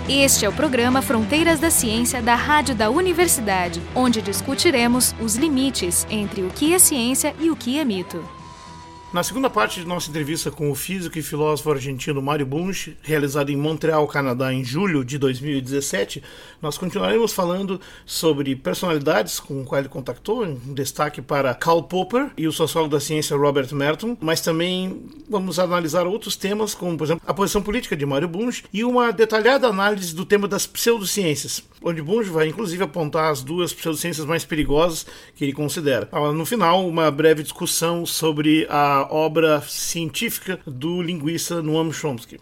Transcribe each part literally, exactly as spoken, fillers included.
Este é o programa Fronteiras da Ciência da Rádio da Universidade, onde discutiremos os limites entre o que é ciência e o que é mito. Na segunda parte de nossa entrevista com o físico e filósofo argentino Mário Bunge, realizada em Montreal, Canadá, em julho de dois mil e dezessete, nós continuaremos falando sobre personalidades com o qual ele contactou, em destaque para Karl Popper e o sociólogo da ciência Robert Merton, mas também vamos analisar outros temas, como, por exemplo, a posição política de Mário Bunge e uma detalhada análise do tema das pseudociências, onde Bunge vai inclusive apontar as duas pseudociências mais perigosas que ele considera. No final, uma breve discussão sobre a obra científica do linguista Noam Chomsky.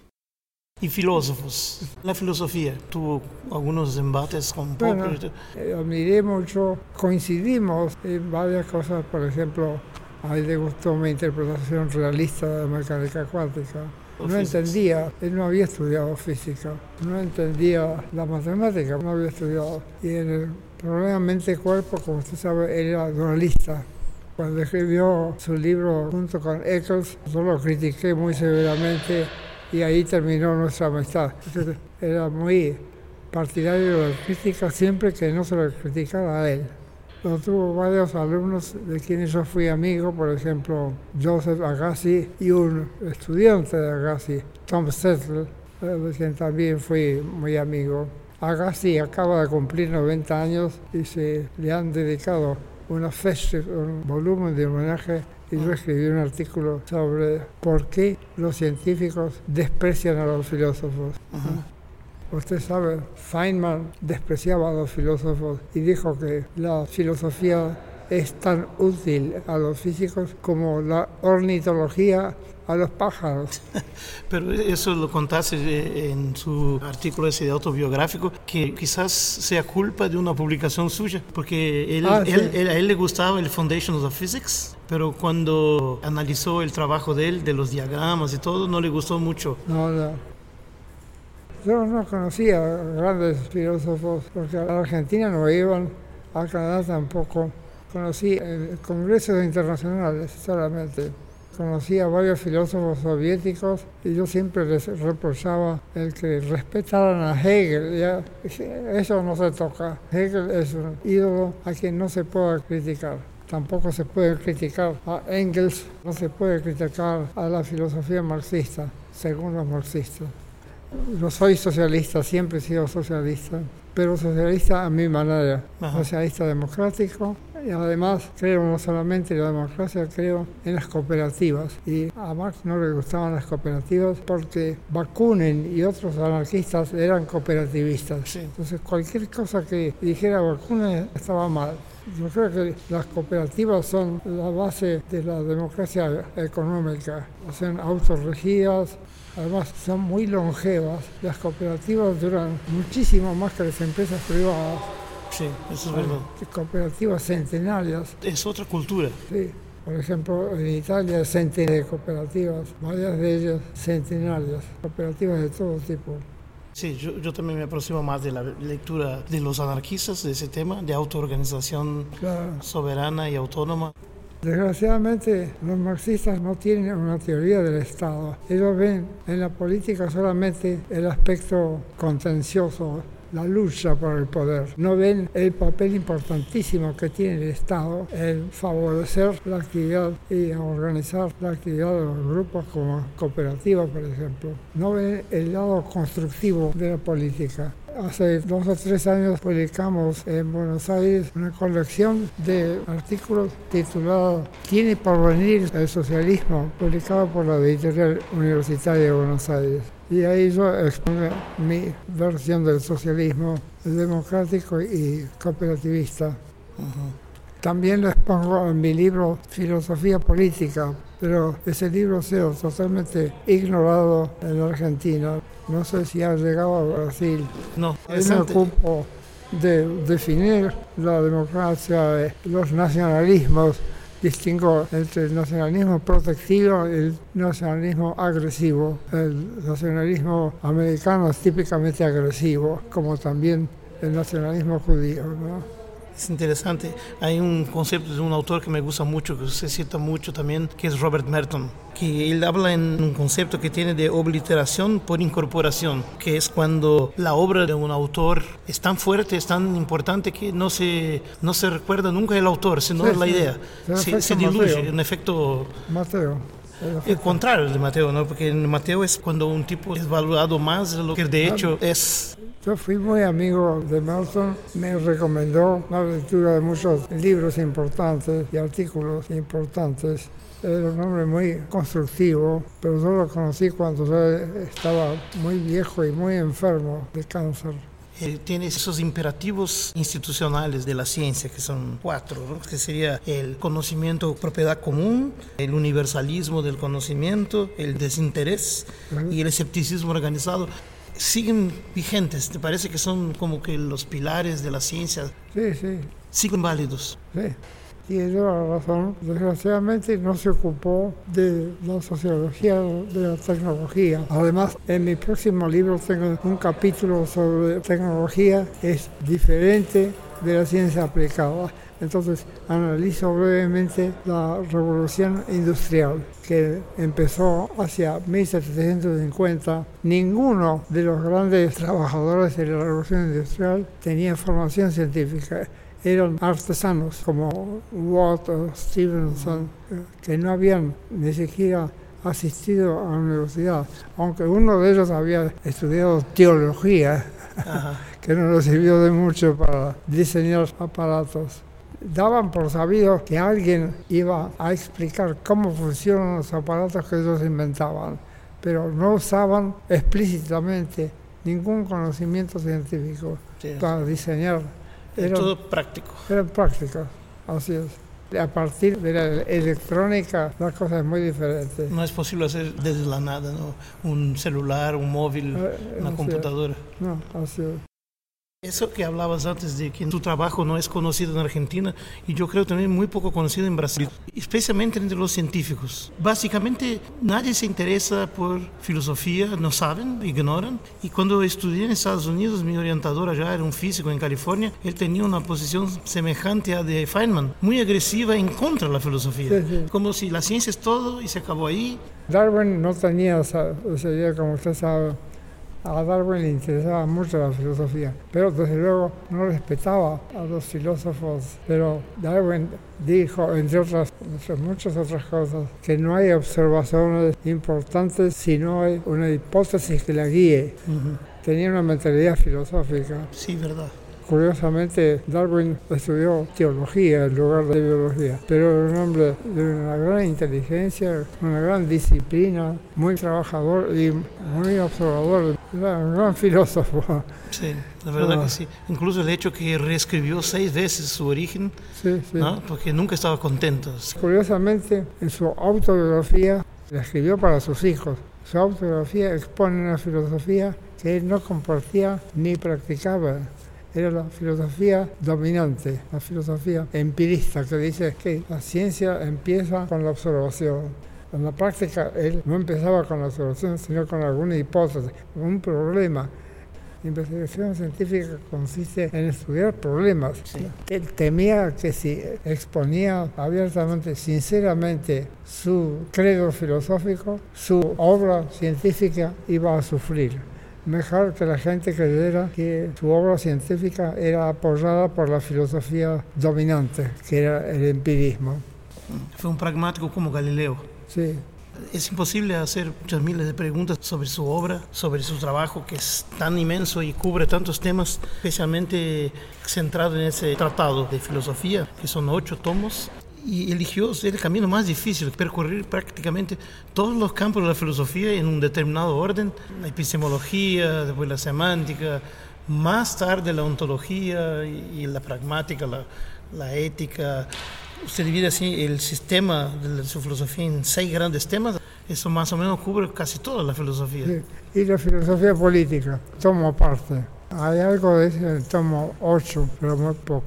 E filósofos, na filosofia, tuvo algunos embates con Popper. Bueno, eh, admiré mucho, coincidimos en varias cosas, por ejemplo, a él le gustó mi interpretación realista de la mecánica cuántica. No entendía, él no había estudiado física, no entendía la matemática, no había estudiado. Y en el problema mente-cuerpo, como usted sabe, él era dualista. Cuando escribió su libro junto con Eccles, yo lo critiqué muy severamente y ahí terminó nuestra amistad. Entonces, era muy partidario de la crítica siempre que no se lo criticara a él. Yo tuvo varios alumnos de quienes yo fui amigo, por ejemplo, Joseph Agassi y un estudiante de Agassi, Tom Settle, de quien también fui muy amigo. Agassi acaba de cumplir noventa años y se le han dedicado una fecha, un volumen de homenaje, y yo escribí un artículo sobre por qué los científicos desprecian a los filósofos. Uh-huh. Usted sabe, Feynman despreciaba a los filósofos y dijo que la filosofía es tan útil a los físicos como la ornitología a los pájaros. Pero eso lo contaste en su artículo ese autobiográfico, que quizás sea culpa de una publicación suya, porque él, ah, él, sí. él, a él le gustaba el Foundations of Physics, pero cuando analizó el trabajo de él, de los diagramas y todo, no le gustó mucho. No, no. Yo no conocía grandes filósofos, porque a la Argentina no iban, a Canadá tampoco. Conocí en congresos internacionales solamente. Conocí a varios filósofos soviéticos y yo siempre les reprochaba el que respetaran a Hegel. ¿Ya? Eso no se toca. Hegel es un ídolo a quien no se puede criticar. Tampoco se puede criticar a Engels, no se puede criticar a la filosofía marxista, según los marxistas. Yo soy socialista, siempre he sido socialista, pero socialista a mi manera, Ajá. socialista democrático. Y además creo no solamente en la democracia, creo en las cooperativas. Y a Marx no le gustaban las cooperativas porque Bakunin y otros anarquistas eran cooperativistas. Sí. Entonces cualquier cosa que dijera Bakunin estaba mal. Yo creo que las cooperativas son la base de la democracia económica. Son autorregidas, además son muy longevas. Las cooperativas duran muchísimo más que las empresas privadas. Sí, eso es verdad. Cooperativas centenarias. Es otra cultura. Sí. Por ejemplo, en Italia hay centenares de cooperativas, varias de ellas centenarias, cooperativas de todo tipo. Sí, yo, yo también me aproximo más de la lectura de los anarquistas, de ese tema, de autoorganización claro. soberana y autónoma. Desgraciadamente, los marxistas no tienen una teoría del Estado. Ellos ven en la política solamente el aspecto contencioso, la lucha por el poder. No ven el papel importantísimo que tiene el Estado en favorecer la actividad y organizar la actividad de los grupos como cooperativas, por ejemplo. No ven el lado constructivo de la política. Hace dos o tres años publicamos en Buenos Aires una colección de artículos titulada ¿Tiene por venir el socialismo?, publicado por la editorial universitaria de Buenos Aires. Y ahí yo expongo mi versión del socialismo democrático y cooperativista. Uh-huh. También lo expongo en mi libro Filosofía Política, pero ese libro ha sido totalmente ignorado en la Argentina. No sé si ha llegado a Brasil. No, Yo me ocupo de definir la democracia, los nacionalismos. Distingo entre el nacionalismo protectivo y el nacionalismo agresivo. El nacionalismo americano es típicamente agresivo, como también el nacionalismo judío, ¿no? Es interesante. Hay un concepto de un autor que me gusta mucho, que se cita mucho también, que es Robert Merton, que él habla en un concepto que tiene de obliteración por incorporación, que es cuando la obra de un autor es tan fuerte, es tan importante que no se, no se recuerda nunca el autor, sino sí, la sí. idea. Se, se diluye, Mateo. Un efecto... Mateo. El contrario de Mateo, ¿no? Porque en Mateo es cuando un tipo es valorado más de lo que de hecho es. Yo fui muy amigo de Merton, me recomendó la lectura de muchos libros importantes y artículos importantes. Era un hombre muy constructivo, pero yo lo conocí cuando yo estaba muy viejo y muy enfermo de cáncer. Eh, tiene esos imperativos institucionales de la ciencia, que son cuatro, ¿no? Que sería el conocimiento, propiedad común, el universalismo del conocimiento, el desinterés uh-huh. y el escepticismo organizado. Siguen vigentes, ¿te parece que son como que los pilares de la ciencia? Sí, sí. Siguen válidos. Sí. Y ella la razón, desgraciadamente no se ocupó de la sociología de la tecnología. Además, en mi próximo libro tengo un capítulo sobre tecnología, es diferente de la ciencia aplicada. Entonces, analizo brevemente la revolución industrial que empezó hacia mil setecientos cincuenta. Ninguno de los grandes trabajadores de la revolución industrial tenía formación científica. Eran artesanos como Watt o Stevenson, que no habían ni siquiera asistido a la universidad, aunque uno de ellos había estudiado teología, que no le sirvió de mucho para diseñar aparatos. Daban por sabido que alguien iba a explicar cómo funcionan los aparatos que ellos inventaban, pero no usaban explícitamente ningún conocimiento científico sí. para diseñar. Era todo práctico. Eran prácticos, así es. A partir de la electrónica, la cosa es muy diferente. No es posible hacer desde la nada, ¿no? Un celular, un móvil, eh, una computadora. Es. No, así es. Eso que hablabas antes de que tu trabajo no es conocido en Argentina y yo creo también muy poco conocido en Brasil, especialmente entre los científicos. Básicamente nadie se interesa por filosofía, no saben, ignoran. Y cuando estudié en Estados Unidos, mi orientador allá era un físico en California, él tenía una posición semejante a de Feynman, muy agresiva en contra de la filosofía. Sí, sí. Como si la ciencia es todo y se acabó ahí. Darwin no tenía esa, esa idea, como usted sabe. A Darwin le interesaba mucho la filosofía, pero desde luego no respetaba a los filósofos. Pero Darwin dijo, entre otras, entre muchas otras cosas, que no hay observaciones importantes si no hay una hipótesis que la guíe. Uh-huh. Tenía una mentalidad filosófica. Sí, verdad. Curiosamente, Darwin estudió teología en lugar de biología, pero era un hombre de una gran inteligencia, una gran disciplina, muy trabajador y muy observador. Era un gran filósofo. Sí, la verdad ah. que sí. Incluso el hecho que reescribió seis veces su origen, sí, sí. ¿no? Porque nunca estaba contento. Curiosamente, en su autobiografía, la escribió para sus hijos. Su autobiografía expone una filosofía que él no compartía ni practicaba. Era la filosofía dominante, la filosofía empirista, que dice que la ciencia empieza con la observación. En la práctica, él no empezaba con la observación, sino con alguna hipótesis, con un problema. La investigación científica consiste en estudiar problemas. Sí. Él temía que si exponía abiertamente, sinceramente, su credo filosófico, su obra científica iba a sufrir. Mejor que la gente creyera que su obra científica era apoyada por la filosofía dominante, que era el empirismo. Fue un pragmático como Galileo. Sí. Es imposible hacer muchas miles de preguntas sobre su obra, sobre su trabajo, que es tan inmenso y cubre tantos temas, especialmente centrado en ese tratado de filosofía, que son ocho tomos. Y eligió el camino más difícil, percorrer prácticamente todos los campos de la filosofía en un determinado orden, la epistemología, después la semántica, más tarde la ontología y, y la pragmática, la, la ética. Usted divide así el sistema de su filosofía en seis grandes temas, eso más o menos cubre casi toda la filosofía. Sí. Y la filosofía política, tomo aparte. Hay algo de ese en el tomo ocho, pero muy poco.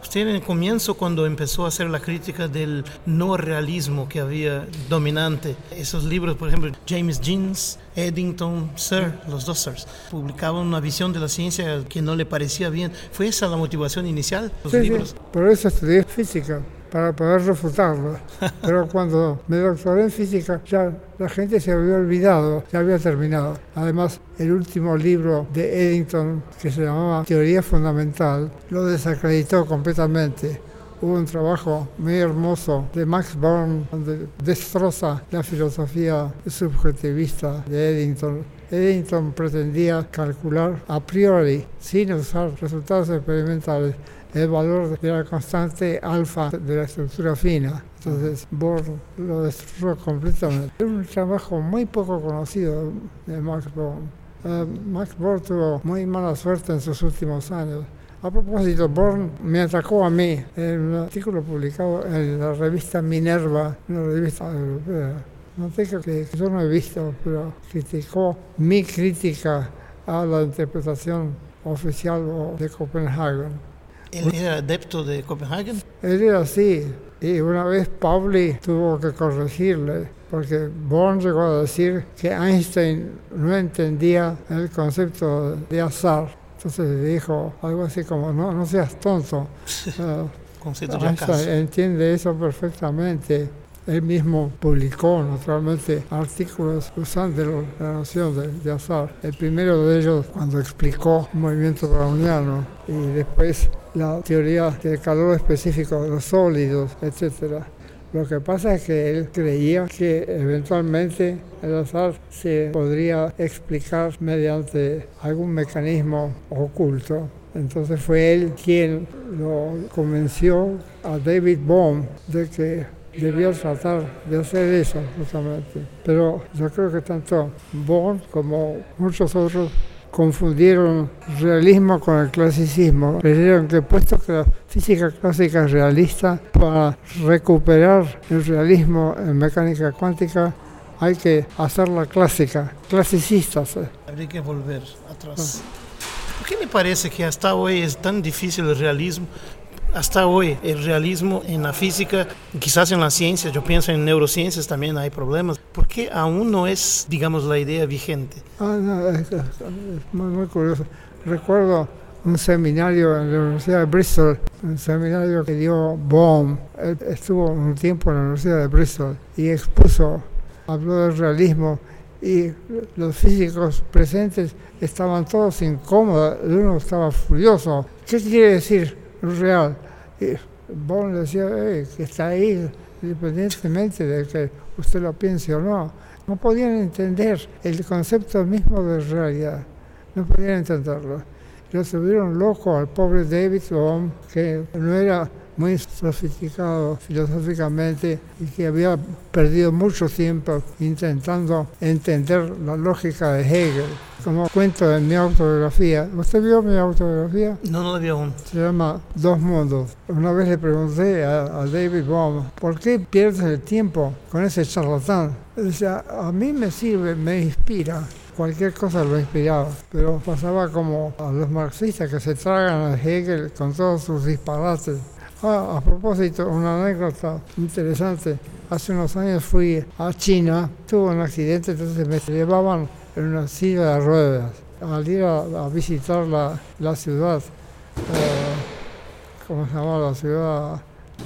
Usted en el comienzo, cuando empezó a hacer la crítica del no realismo que había dominante, esos libros, por ejemplo, James Jeans, Eddington, Sir, los dos Sirs, publicaban una visión de la ciencia que no le parecía bien. ¿Fue esa la motivación inicial? Los sí, libros? Sí, por eso estudié física, para poder refutarlo. Pero cuando me doctoré en física, ya la gente se había olvidado, ya había terminado. Además, el último libro de Eddington, que se llamaba Teoría Fundamental, lo desacreditó completamente. Hubo un trabajo muy hermoso de Max Born, donde destroza la filosofía subjetivista de Eddington. Eddington pretendía calcular a priori, sin usar resultados experimentales, el valor de la constante alfa de la estructura fina. Entonces Born lo destruyó completamente. Es un trabajo muy poco conocido de Max Born. Uh, Max Born tuvo muy mala suerte en sus últimos años. A propósito, Born me atacó a mí en un artículo publicado en la revista Minerva, una revista europea. No tengo que yo no he visto, pero criticó mi crítica a la interpretación oficial de Copenhagen. ¿Él era adepto de Copenhagen? Él era así, y una vez Pauli tuvo que corregirle, porque Born llegó a decir que Einstein no entendía el concepto de azar. Entonces le dijo algo así como, no, no seas tonto. uh, Einstein entiende eso perfectamente. Él mismo publicó, naturalmente, artículos usando la noción de, de azar. El primero de ellos cuando explicó el movimiento browniano y después la teoría del calor específico de los sólidos, etcétera. Lo que pasa es que él creía que eventualmente el azar se podría explicar mediante algún mecanismo oculto. Entonces fue él quien lo convenció a David Bohm de que debía tratar de hacer eso justamente. Pero yo creo que tanto Bohm como muchos otros confundieron realismo con el clasicismo. Creyeron que puesto que la física clásica es realista, para recuperar el realismo en mecánica cuántica hay que hacerla clásica, clasicista. ¿sí? Habría que volver atrás. Ah. ¿Por qué me parece que hasta hoy es tan difícil el realismo? Hasta hoy el realismo en la física, quizás en la ciencia, yo pienso en neurociencias también hay problemas. ¿Por qué aún no es, digamos, la idea vigente? Ah, no, es, es muy, muy curioso. Recuerdo un seminario en la Universidad de Bristol, un seminario que dio Bohm. Él estuvo un tiempo en la Universidad de Bristol y expuso, habló del realismo y los físicos presentes estaban todos incómodos, uno estaba furioso. ¿Qué quiere decir real? Y Bohm decía hey, que está ahí independientemente de que usted lo piense o no. No podían entender el concepto mismo de realidad, no podían entenderlo. Lo volvieron loco al pobre David Bohm, que no era muy sofisticado filosóficamente y que había perdido mucho tiempo intentando entender la lógica de Hegel. Como cuento en mi autobiografía. ¿Usted vio mi autobiografía? No, no la vi aún. Se llama Dos Mundos. Una vez le pregunté a, a David Bohm, ¿por qué pierdes el tiempo con ese charlatán? Él decía, a mí me sirve, me inspira. Cualquier cosa lo inspiraba, pero pasaba como a los marxistas que se tragan a Hegel con todos sus disparates. Ah, a propósito, una anécdota interesante. Hace unos años fui a China, tuve un accidente, entonces me llevaban en una silla de ruedas. Al ir a, a visitar la, la ciudad, eh, ¿cómo se llama la ciudad?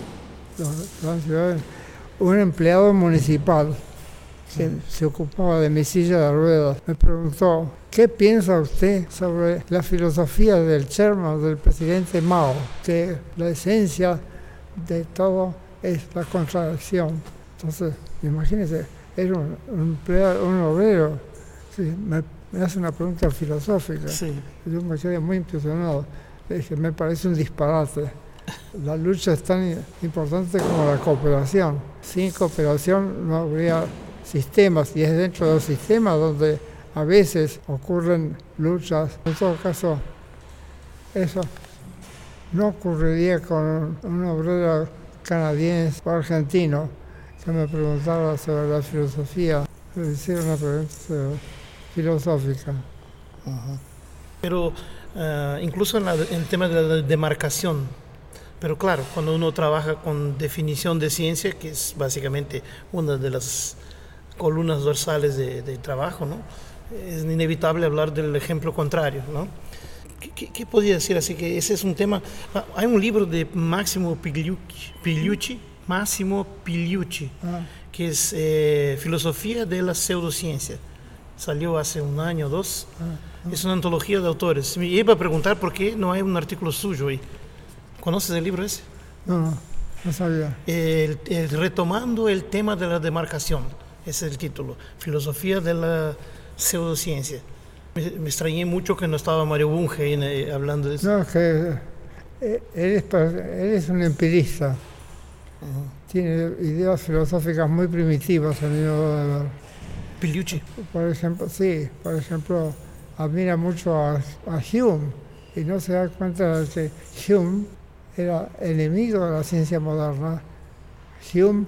La, la ciudad? Un empleado municipal que se ocupaba de mi silla de ruedas me preguntó, ¿qué piensa usted sobre la filosofía del Chairman, del presidente Mao? Que la esencia de todo es la contradicción. Entonces, imagínese, era un, un empleado, un obrero, sí, me, me hace una pregunta filosófica. Sí. Yo me quedé muy impresionado. Le dije, me parece un disparate. La lucha es tan importante como la cooperación. Sin cooperación no habría sistemas, y es dentro de los sistemas donde a veces ocurren luchas. En todo caso, eso no ocurriría con un obrero canadiense o argentino que me preguntara sobre la filosofía, le hiciera una pregunta filosófica. Uh-huh. Pero uh, incluso en, la, en el tema de la demarcación, Pero claro, cuando uno trabaja con definición de ciencia, que es básicamente una de las columnas dorsales de, de trabajo, ¿no? Es inevitable hablar del ejemplo contrario, ¿no? ¿Qué, qué, qué podría decir? Así que ese es un tema. Hay un libro de Máximo Pigliucci, Pigliucci Máximo Pigliucci, ah. que es eh, Filosofía de la Pseudociencia. Salió hace un año o dos. Ah, ah. Es una antología de autores. Me iba a preguntar por qué no hay un artículo suyo ahí. ¿Conoces el libro ese? No, no, no sabía. El, el, retomando el tema de la demarcación, ese es el título. Filosofía de la Pseudociencia. Me, me extrañé mucho que no estaba Mario Bunge eh, hablando de eso. No, es que él es, él es un empirista. Uh-huh. Tiene ideas filosóficas muy primitivas, a mi modo de ver. Pigliucci. Por ejemplo, sí, por ejemplo, admira mucho a, a Hume y no se da cuenta de que Hume era enemigo de la ciencia moderna. Hume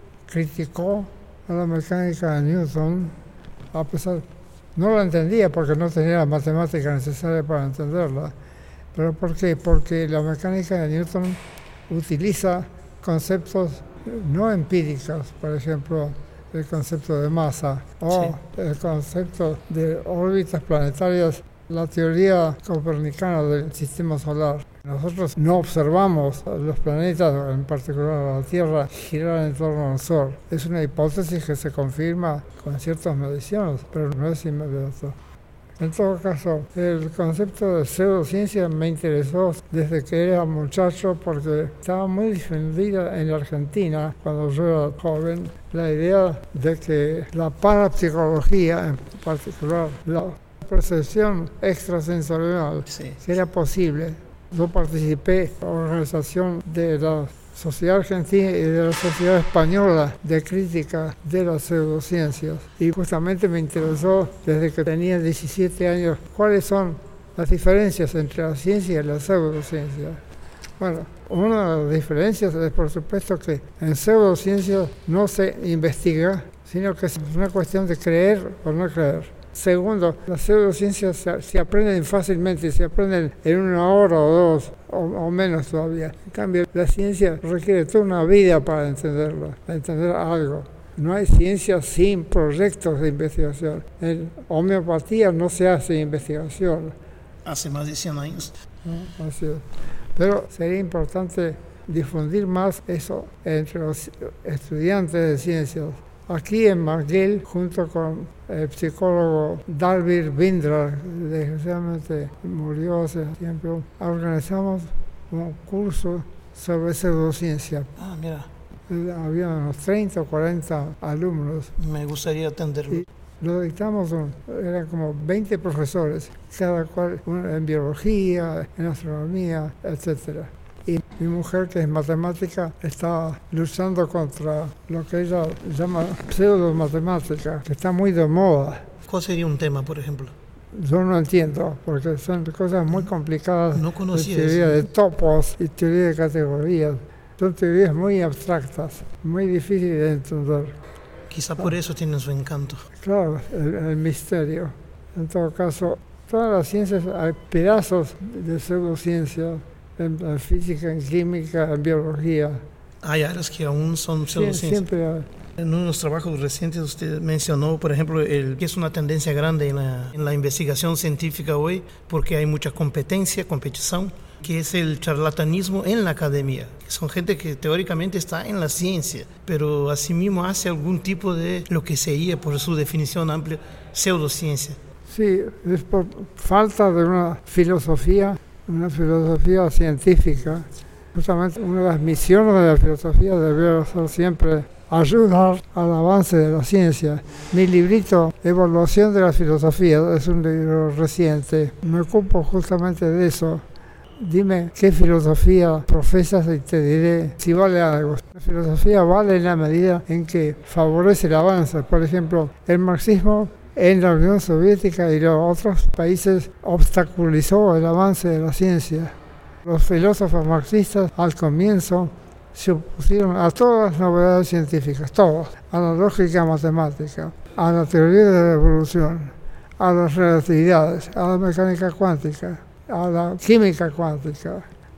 criticó a la mecánica de Newton, a pesar, no la entendía porque no tenía la matemática necesaria para entenderla. ¿Pero por qué? Porque la mecánica de Newton utiliza conceptos no empíricos, por ejemplo, el concepto de masa o sí. el concepto de órbitas planetarias, la teoría copernicana del sistema solar. Nosotros no observamos los planetas, en particular la Tierra, girar en torno al Sol. Es una hipótesis que se confirma con ciertas mediciones, pero no es inmediato. En todo caso, el concepto de pseudociencia me interesó desde que era muchacho porque estaba muy difundida en la Argentina, cuando yo era joven, la idea de que la parapsicología, en particular la percepción extrasensorial, sí. que era posible. Yo participé en la organización de la Sociedad Argentina y de la Sociedad Española de Crítica de las Pseudociencias. Y justamente me interesó desde que tenía diecisiete años cuáles son las diferencias entre la ciencia y la pseudociencia. Bueno, una de las diferencias es por supuesto que en pseudociencia no se investiga, sino que es una cuestión de creer o no creer. Segundo, las pseudociencias se, se aprenden fácilmente, se aprenden en una hora o dos, o, o menos todavía. En cambio, la ciencia requiere toda una vida para entenderla, para entender algo. No hay ciencia sin proyectos de investigación. En homeopatía no se hace investigación. Hace más de cien años. ¿No? Así es. Pero sería importante difundir más eso entre los estudiantes de ciencias. Aquí en McGill, junto con el psicólogo Dalvir Bindra, desgraciadamente murió hace tiempo, organizamos un curso sobre pseudociencia. Ah, mira. Había unos treinta o cuarenta alumnos. Me gustaría atenderlo. Y lo dictamos, un, eran como veinte profesores, cada cual en biología, en astronomía, etcétera. Y mi mujer, que es matemática, está luchando contra lo que ella llama pseudo-matemática, que está muy de moda. ¿Cuál sería un tema, por ejemplo? Yo no entiendo, porque son cosas muy complicadas. No conocía de teoría eso. de topos y teoría de categorías. Son teorías muy abstractas, muy difíciles de entender. Quizá por eso tienen su encanto. Claro, el, el misterio. En todo caso, todas las ciencias, hay pedazos de pseudociencia. En, en física, en química, en biología. Hay áreas que aún son pseudociencias. Siempre hay. En unos trabajos recientes usted mencionó, por ejemplo, el, que es una tendencia grande en la, en la investigación científica hoy, porque hay mucha competencia, competición, que es el charlatanismo en la academia. Son gente que teóricamente está en la ciencia, pero asimismo hace algún tipo de lo que sería, por su definición amplia, pseudociencia. Sí, es por falta de una filosofía una filosofía científica. Justamente una de las misiones de la filosofía debería ser siempre ayudar al avance de la ciencia. Mi librito, Evaluación de la Filosofía, es un libro reciente. Me ocupo justamente de eso. Dime qué filosofía profesas y te diré si vale algo. La filosofía vale en la medida en que favorece el avance. Por ejemplo, el marxismo en la Unión Soviética y los otros países obstaculizó el avance de la ciencia. Los filósofos marxistas al comienzo se opusieron a todas las novedades científicas, todas, a la lógica matemática, a la teoría de la evolución, a las relatividades, a la mecánica cuántica, a la química cuántica,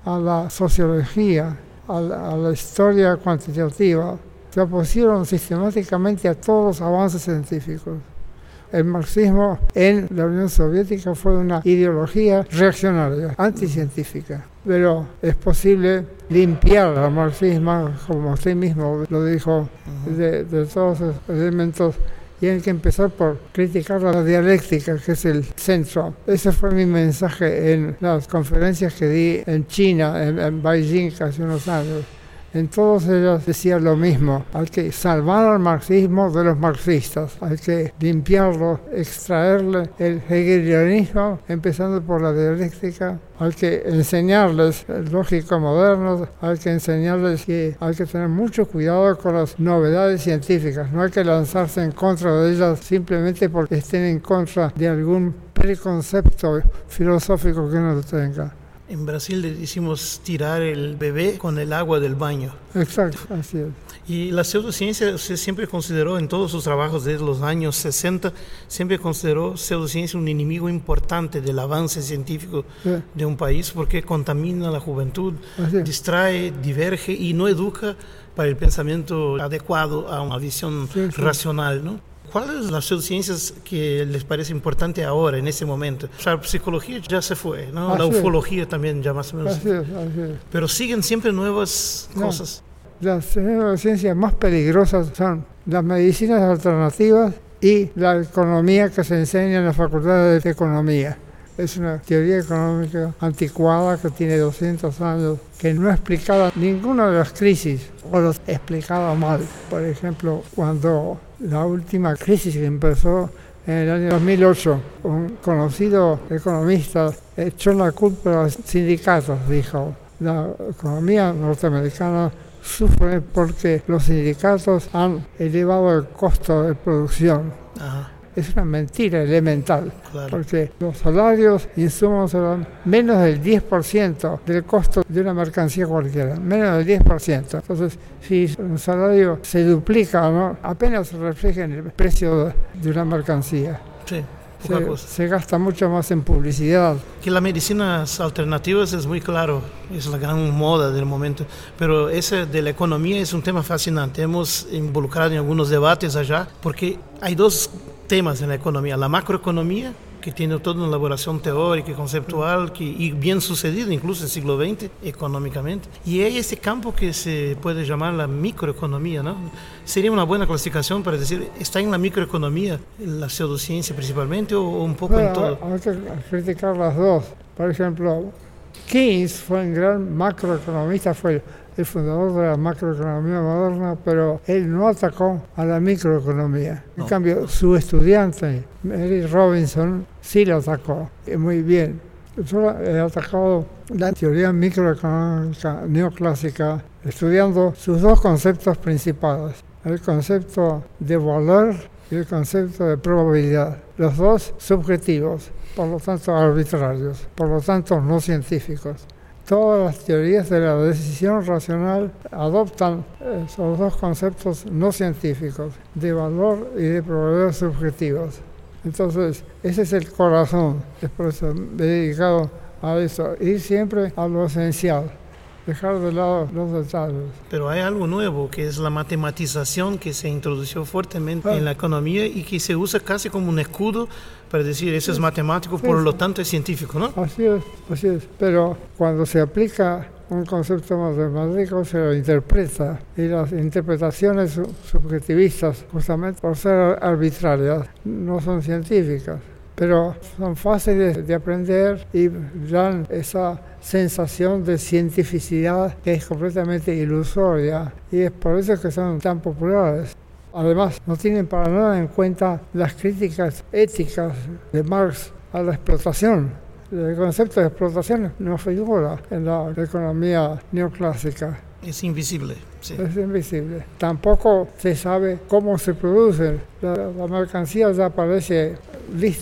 a la sociología, a la, a la historia cuantitativa, se opusieron sistemáticamente a todos los avances científicos. El marxismo en la Unión Soviética fue una ideología reaccionaria, anticientífica. Pero es posible limpiar al marxismo, como usted mismo lo dijo, de, de todos esos elementos. Y hay que empezar por criticar la dialéctica, que es el centro. Ese fue mi mensaje en las conferencias que di en China, en, en Beijing, hace unos años. En todas ellas decía lo mismo: hay que salvar al marxismo de los marxistas, hay que limpiarlo, extraerle el hegelianismo, empezando por la dialéctica, hay que enseñarles el lógico moderno, hay que enseñarles que hay que tener mucho cuidado con las novedades científicas, no hay que lanzarse en contra de ellas simplemente porque estén en contra de algún preconcepto filosófico que uno tenga. En Brasil le decimos tirar el bebé con el agua del baño. Exacto, así es. Y la pseudociencia, usted siempre consideró en todos sus trabajos desde los años sesenta, siempre consideró pseudociencia un enemigo importante del avance científico sí. de un país, porque contamina la juventud, distrae, diverge y no educa para el pensamiento adecuado a una visión sí, sí. racional, ¿no? ¿Cuáles son las pseudociencias que les parece importante ahora, en ese momento? O sea, la psicología ya se fue, ¿no? Así la ufología es. También ya más o menos. Así es, así es. Pero siguen siempre nuevas no, cosas. Las pseudociencias más peligrosas son las medicinas alternativas y la economía que se enseña en la Facultad de Economía. Es una teoría económica anticuada que tiene doscientos años, que no explicaba ninguna de las crisis, o los explicaba mal. Por ejemplo, cuando la última crisis que empezó en el año dos mil ocho, un conocido economista echó la culpa a los sindicatos, dijo: la economía norteamericana sufre porque los sindicatos han elevado el costo de producción. Ajá. Es una mentira elemental, claro. Porque los salarios, insumos, son menos del diez por ciento del costo de una mercancía cualquiera, menos del diez por ciento. Entonces, si un salario se duplica, ¿no?, apenas se refleja en el precio de una mercancía. Sí. Se, se gasta mucho más en publicidad. Que las medicinas alternativas es muy claro, es la gran moda del momento, pero ese de la economía es un tema fascinante. Hemos involucrado en algunos debates allá, porque hay dos temas en la economía: la macroeconomía, que tiene toda una elaboración teórica y conceptual que, y bien sucedida incluso en el siglo veinte económicamente, y hay este campo que se puede llamar la microeconomía, ¿no? Sería una buena clasificación para decir, ¿está en la microeconomía la pseudociencia principalmente o, o un poco bueno, en todo? Hay que criticar las dos. Por ejemplo, Keynes fue un gran macroeconomista, fue el fundador de la macroeconomía moderna, pero él no atacó a la microeconomía. En no. cambio, su estudiante, Mary Robinson, sí la atacó, y muy bien. Yo he atacado la teoría microeconómica neoclásica, estudiando sus dos conceptos principales: el concepto de valor y el concepto de probabilidad. Los dos subjetivos, por lo tanto arbitrarios, por lo tanto no científicos. Todas las teorías de la decisión racional adoptan esos dos conceptos no científicos, de valor y de probabilidad subjetivos. Entonces, ese es el corazón. Es por eso me he dedicado a eso, ir siempre a lo esencial, dejar de lado los detalles. Pero hay algo nuevo, que es la matematización, que se introdujo fuertemente ah. en la economía y que se usa casi como un escudo para decir, eso es matemático, sí, por lo tanto es científico, ¿no? Así es, así es. Pero cuando se aplica un concepto matemático, se lo interpreta, y las interpretaciones subjetivistas, justamente por ser arbitrarias, no son científicas, pero son fáciles de aprender y dan esa sensación de cientificidad que es completamente ilusoria, y es por eso que son tan populares. Además, no tienen para nada en cuenta las críticas éticas de Marx a la explotación. El concepto de explotación no figura en la economía neoclásica. Es invisible. Sí. Es invisible. Tampoco se sabe cómo se producen. La, la mercancía ya aparece, viste,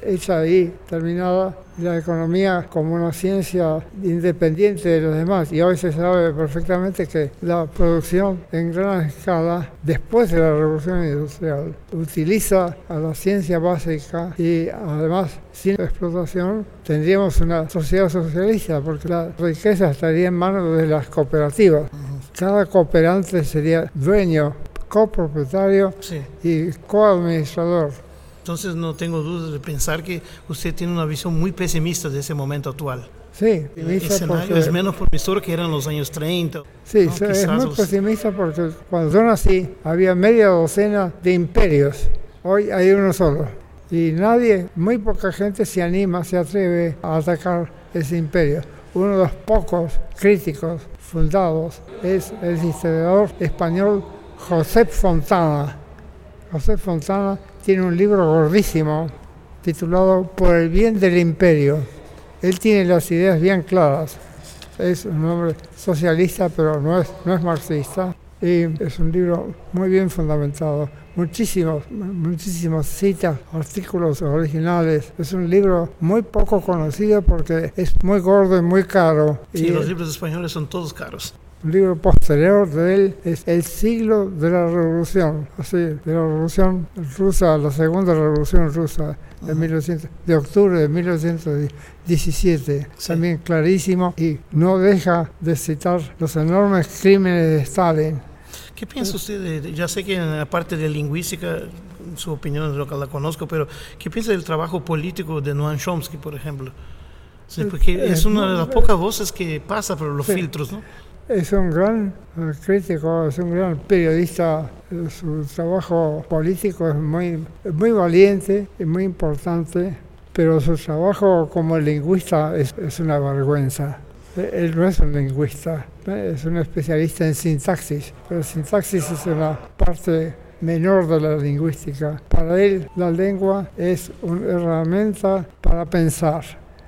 hecha ahí, terminada, la economía como una ciencia independiente de los demás. Y hoy se sabe perfectamente que la producción en gran escala, después de la revolución industrial, utiliza a la ciencia básica y además, sin explotación, tendríamos una sociedad socialista, porque la riqueza estaría en manos de las cooperativas. Cada cooperante sería dueño, copropietario sí. y coadministrador. Entonces no tengo dudas de pensar que usted tiene una visión muy pesimista de ese momento actual. Sí, el escenario porque... es menos promisor que eran los años treinta. Sí, ¿no? es muy los... pesimista porque cuando yo nací había media docena de imperios. Hoy hay uno solo. Y nadie, muy poca gente se anima, se atreve a atacar ese imperio. Uno de los pocos críticos fundados es el historiador español Josep Fontana. Josep Fontana tiene un libro gordísimo titulado Por el bien del imperio. Él tiene las ideas bien claras. Es un hombre socialista, pero no es, no es marxista. Y es un libro muy bien fundamentado. Muchísimos, muchísimas citas, artículos originales. Es un libro muy poco conocido porque es muy gordo y muy caro. Sí, y los libros españoles son todos caros. Un libro posterior de él es El siglo de la revolución, así, de la revolución rusa, la segunda revolución rusa de, mil novecientos, de octubre de mil novecientos diecisiete, sí. También clarísimo, y no deja de citar los enormes crímenes de Stalin. ¿Qué piensa usted de, ya sé que en la parte de lingüística, su opinión es lo que la conozco, pero ¿qué piensa del trabajo político de Noam Chomsky, por ejemplo? Sí, porque es una de las pocas voces que pasa por los sí. filtros, ¿no? Es un gran crítico, es un gran periodista. Su trabajo político es muy, muy valiente y muy importante, pero su trabajo como lingüista es, es una vergüenza. Él no es un lingüista, es un especialista en sintaxis, pero sintaxis es una parte menor de la lingüística. Para él, la lengua es una herramienta para pensar.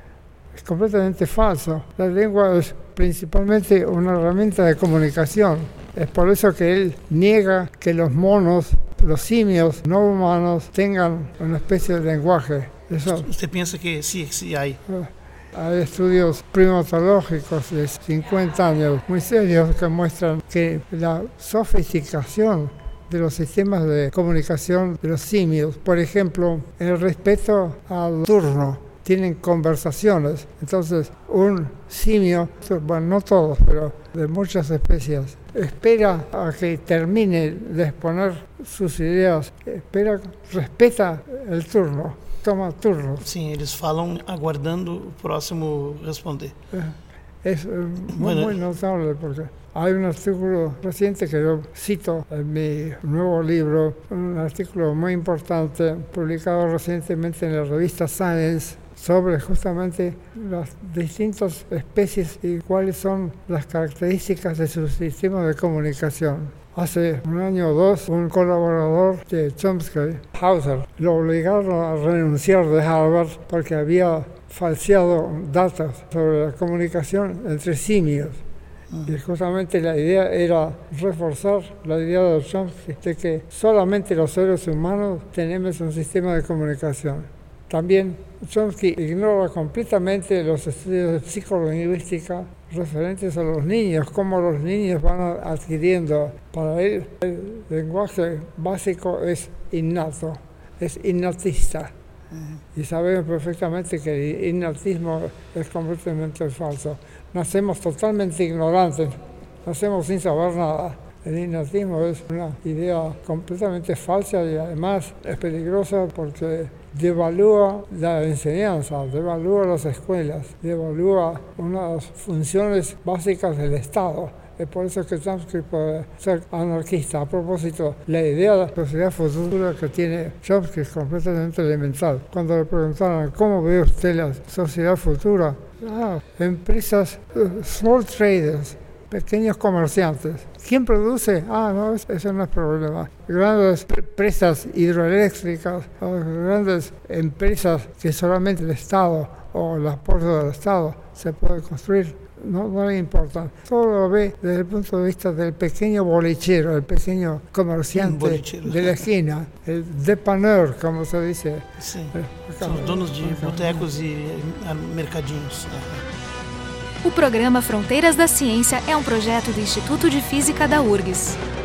Es completamente falso. La lengua es principalmente una herramienta de comunicación. Es por eso que él niega que los monos, los simios no humanos, tengan una especie de lenguaje. Eso, ¿Usted piensa que sí, sí hay? Hay estudios primatológicos de cincuenta años muy serios que muestran que la sofisticación de los sistemas de comunicación de los simios, por ejemplo, el respeto al turno, tienen conversaciones. Entonces, un simio, bueno, no todos, pero de muchas especies, espera a que termine de exponer sus ideas, espera, respeta el turno, toma turno. Sí, ellos falam aguardando o próximo responder. Es muy, bueno, muy notable porque hay un artículo reciente que yo cito en mi nuevo libro, un artículo muy importante publicado recientemente en la revista Science, sobre justamente las distintas especies y cuáles son las características de su sistema de comunicación. Hace un año o dos, un colaborador de Chomsky, Hauser, lo obligaron a renunciar de Harvard porque había falseado datos sobre la comunicación entre simios. Y justamente la idea era reforzar la idea de Chomsky de que solamente los seres humanos tenemos un sistema de comunicación. También Chomsky ignora completamente los estudios de psicolingüística referentes a los niños, cómo los niños van adquiriendo. Para él, el lenguaje básico es innato, es innatista. Uh-huh. Y sabemos perfectamente que el innatismo es completamente falso. Nacemos totalmente ignorantes, nacemos sin saber nada. El innatismo es una idea completamente falsa y además es peligrosa porque devalúa la enseñanza, devalúa las escuelas, devalúa unas funciones básicas del Estado. Es por eso que Chomsky puede ser anarquista. A propósito, la idea de la sociedad futura que tiene Chomsky es completamente elemental. Cuando le preguntaron cómo ve usted la sociedad futura, ah, empresas, uh, small traders, pequeños comerciantes. ¿Quién produce? Ah, no, eso no es problema. Grandes presas hidroeléctricas, grandes empresas que solamente el Estado o el apoyo del Estado se puede construir. No, no le importa. Todo lo ve desde el punto de vista del pequeño bolichero, el pequeño comerciante de la esquina, el dépanneur, como se dice. Sí, son los donos de botecos e mercadinhos. O programa Fronteiras da Ciência é um projeto do Instituto de Física da U R G S.